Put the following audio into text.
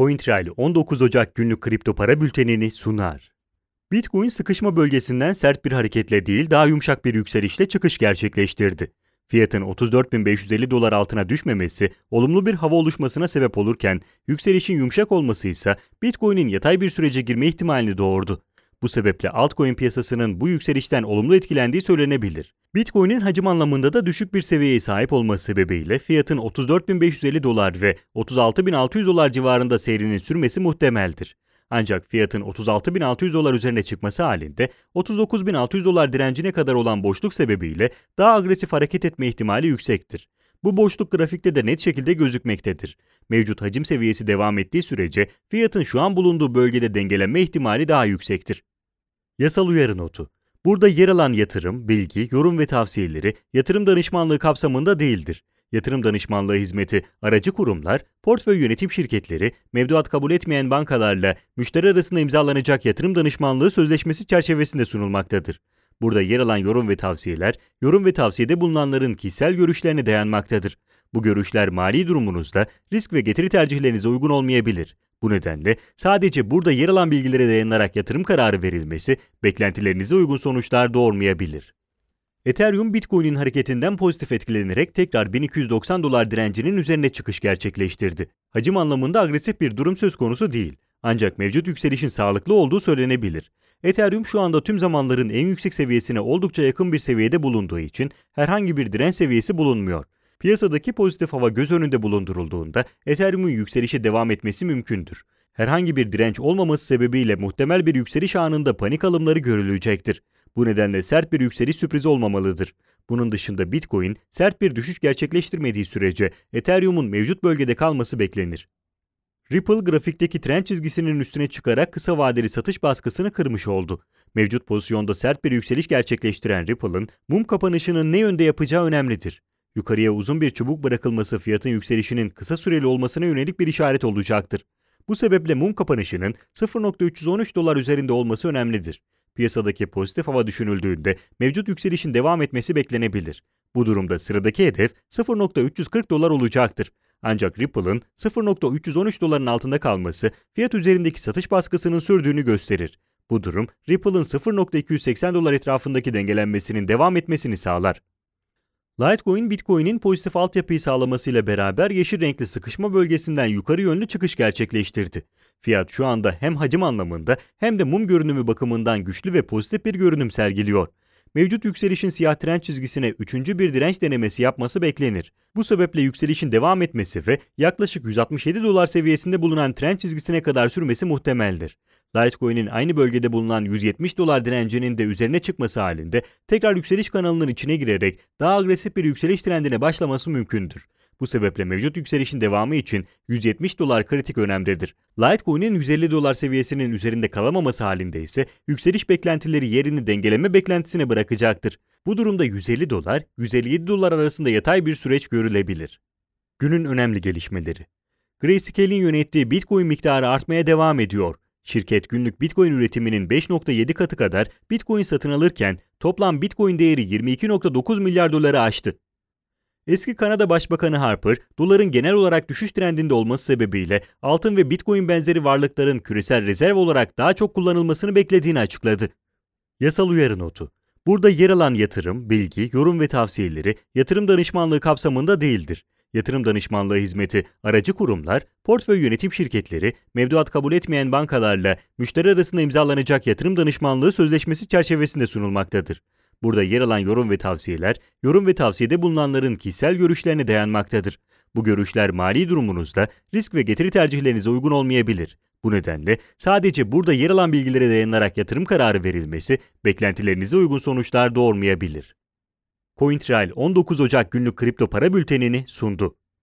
CoinTrail 19 Ocak günlük kripto para bültenini sunar. Bitcoin sıkışma bölgesinden sert bir hareketle değil daha yumuşak bir yükselişle çıkış gerçekleştirdi. Fiyatın 34.550 dolar altına düşmemesi olumlu bir hava oluşmasına sebep olurken yükselişin yumuşak olması ise Bitcoin'in yatay bir sürece girme ihtimalini doğurdu. Bu sebeple altcoin piyasasının bu yükselişten olumlu etkilendiği söylenebilir. Bitcoin'in hacim anlamında da düşük bir seviyeye sahip olması sebebiyle fiyatın 34.550 dolar ve 36.600 dolar civarında seyrinin sürmesi muhtemeldir. Ancak fiyatın 36.600 dolar üzerine çıkması halinde 39.600 dolar direncine kadar olan boşluk sebebiyle daha agresif hareket etme ihtimali yüksektir. Bu boşluk grafikte de net şekilde gözükmektedir. Mevcut hacim seviyesi devam ettiği sürece fiyatın şu an bulunduğu bölgede dengelenme ihtimali daha yüksektir. Yasal uyarı notu. Burada yer alan yatırım, bilgi, yorum ve tavsiyeleri yatırım danışmanlığı kapsamında değildir. Yatırım danışmanlığı hizmeti aracı kurumlar, portföy yönetim şirketleri, mevduat kabul etmeyen bankalarla müşteri arasında imzalanacak yatırım danışmanlığı sözleşmesi çerçevesinde sunulmaktadır. Burada yer alan yorum ve tavsiyeler, yorum ve tavsiyede bulunanların kişisel görüşlerine dayanmaktadır. Bu görüşler mali durumunuzda risk ve getiri tercihlerinize uygun olmayabilir. Bu nedenle sadece burada yer alan bilgilere dayanarak yatırım kararı verilmesi beklentilerinize uygun sonuçlar doğurmayabilir. Ethereum, Bitcoin'in hareketinden pozitif etkilenerek tekrar 1290 dolar direncinin üzerine çıkış gerçekleştirdi. Hacim anlamında agresif bir durum söz konusu değil. Ancak mevcut yükselişin sağlıklı olduğu söylenebilir. Ethereum şu anda tüm zamanların en yüksek seviyesine oldukça yakın bir seviyede bulunduğu için herhangi bir direnç seviyesi bulunmuyor. Piyasadaki pozitif hava göz önünde bulundurulduğunda Ethereum'un yükselişe devam etmesi mümkündür. Herhangi bir direnç olmaması sebebiyle muhtemel bir yükseliş anında panik alımları görülecektir. Bu nedenle sert bir yükseliş sürprizi olmamalıdır. Bunun dışında Bitcoin sert bir düşüş gerçekleştirmediği sürece Ethereum'un mevcut bölgede kalması beklenir. Ripple grafikteki trend çizgisinin üstüne çıkarak kısa vadeli satış baskısını kırmış oldu. Mevcut pozisyonda sert bir yükseliş gerçekleştiren Ripple'ın mum kapanışının ne yönde yapacağı önemlidir. Yukarıya uzun bir çubuk bırakılması fiyatın yükselişinin kısa süreli olmasına yönelik bir işaret olacaktır. Bu sebeple mum kapanışının 0.313 dolar üzerinde olması önemlidir. Piyasadaki pozitif hava düşünüldüğünde mevcut yükselişin devam etmesi beklenebilir. Bu durumda sıradaki hedef 0.340 dolar olacaktır. Ancak Ripple'ın 0.313 doların altında kalması fiyat üzerindeki satış baskısının sürdüğünü gösterir. Bu durum Ripple'ın 0.280 dolar etrafındaki dengelenmesinin devam etmesini sağlar. Litecoin, Bitcoin'in pozitif altyapıyı sağlamasıyla beraber yeşil renkli sıkışma bölgesinden yukarı yönlü çıkış gerçekleştirdi. Fiyat şu anda hem hacim anlamında hem de mum görünümü bakımından güçlü ve pozitif bir görünüm sergiliyor. Mevcut yükselişin siyah trend çizgisine üçüncü bir direnç denemesi yapması beklenir. Bu sebeple yükselişin devam etmesi ve yaklaşık 167 dolar seviyesinde bulunan trend çizgisine kadar sürmesi muhtemeldir. Litecoin'in aynı bölgede bulunan 170 dolar direncinin de üzerine çıkması halinde tekrar yükseliş kanalının içine girerek daha agresif bir yükseliş trendine başlaması mümkündür. Bu sebeple mevcut yükselişin devamı için 170 dolar kritik önemdedir. Litecoin'in 150 dolar seviyesinin üzerinde kalamaması halinde ise yükseliş beklentileri yerini dengeleme beklentisine bırakacaktır. Bu durumda 150 dolar, 157 dolar arasında yatay bir süreç görülebilir. Günün önemli gelişmeleri. Grayscale'in yönettiği Bitcoin miktarı artmaya devam ediyor. Şirket günlük Bitcoin üretiminin 5.7 katı kadar Bitcoin satın alırken toplam Bitcoin değeri 22.9 milyar doları aştı. Eski Kanada Başbakanı Harper, doların genel olarak düşüş trendinde olması sebebiyle altın ve Bitcoin benzeri varlıkların küresel rezerv olarak daha çok kullanılmasını beklediğini açıkladı. Yasal uyarı notu. Burada yer alan yatırım, bilgi, yorum ve tavsiyeleri yatırım danışmanlığı kapsamında değildir. Yatırım danışmanlığı hizmeti aracı kurumlar, portföy yönetim şirketleri, mevduat kabul etmeyen bankalarla müşteri arasında imzalanacak yatırım danışmanlığı sözleşmesi çerçevesinde sunulmaktadır. Burada yer alan yorum ve tavsiyeler, yorum ve tavsiyede bulunanların kişisel görüşlerine dayanmaktadır. Bu görüşler mali durumunuzda risk ve getiri tercihlerinize uygun olmayabilir. Bu nedenle sadece burada yer alan bilgilere dayanarak yatırım kararı verilmesi beklentilerinize uygun sonuçlar doğurmayabilir. CoinTrail 19 Ocak günlük kripto para bültenini sundu.